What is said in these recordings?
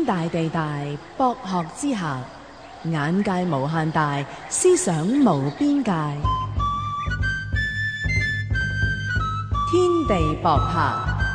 天大地大，博學之下，眼界無限大，思想無邊界。天地博客，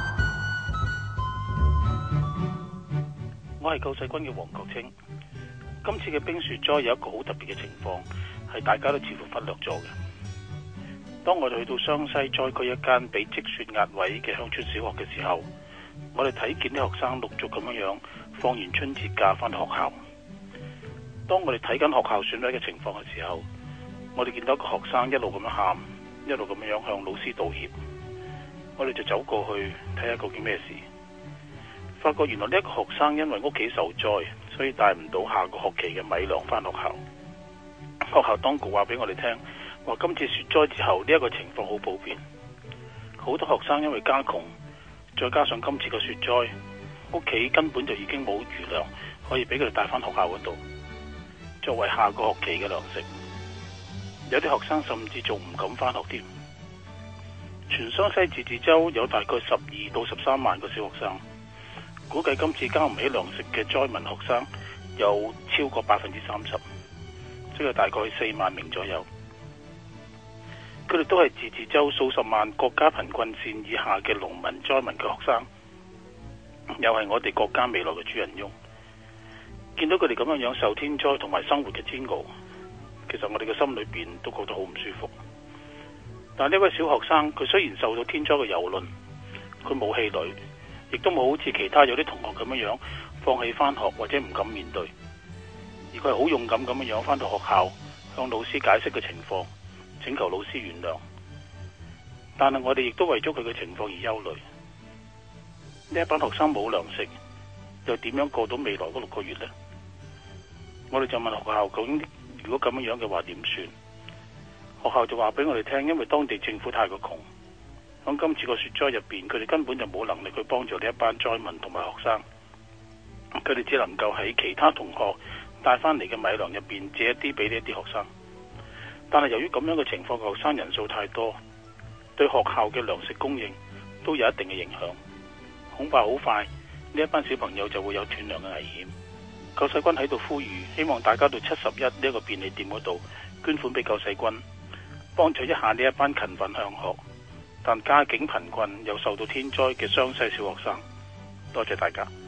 我係救世軍嘅黃國清。今次嘅冰雪災有一個好特別嘅情況，係大家都似乎忽略咗嘅。當我哋去到湘西災區一間被積雪壓毀嘅鄉村小學嘅時候，我哋睇見啲學生陸續咁樣放完春節假返學校。當我哋睇緊學校損毀嘅情況嘅時候，我哋見到一個學生一路咁樣喊，一路咁樣向老師道歉。我哋就走過去睇下究竟咩事，發覺原來呢一個學生因為屋企受災，所以帶唔到下個學期嘅米糧返學校。學校當局話俾我哋聽，話今次雪災之後呢一個情況好普遍，好多學生因為家窮，再加上今次嘅雪災，屋企根本就已經冇餘糧可以俾佢哋帶返學校嗰度，作為下個學期嘅糧食。有啲學生甚至仲唔敢返學添。全湘西自治州有大概12到13萬個小學生，估計今次交唔起糧食嘅災民學生有超過30%，即係大概4萬名左右。佢哋都係自治州數十萬國家貧困線以下嘅農民災民嘅學生，又係我哋國家未來嘅主人翁。見到佢哋咁樣受天災同埋生活嘅煎熬，其實我哋嘅心裏邊都覺得好唔舒服。但呢位小學生，佢雖然受到天災嘅蹂躪，佢冇氣餒，亦都冇好似其他有啲同學咁樣放棄返學或者唔敢面對，而佢係好勇敢咁樣返到學校，向老師解釋嘅情況，請求老師原諒。但係我哋亦都為咗佢嘅情況而憂慮。呢一班學生冇糧食，又點樣過到未來嗰6個月呢？我哋就問學校，究竟如果咁樣嘅話點算？學校就話俾我哋聽，因為當地政府太過窮，響今次個雪災入邊，佢哋根本就冇能力去幫助呢一班災民同埋學生，佢哋只能夠喺其他同學帶翻嚟嘅米糧入邊借一啲俾呢一啲學生。但係由於咁樣嘅情況，學生人數太多，對學校嘅糧食供應都有一定嘅影響，恐怕好快呢一班小朋友就會有斷糧嘅危險。救世軍喺度呼籲，希望大家到71呢一個便利店嗰度捐款俾救世軍，幫助一下呢一班勤奮向學但家境貧困又受到天災嘅湘西小學生。多謝大家。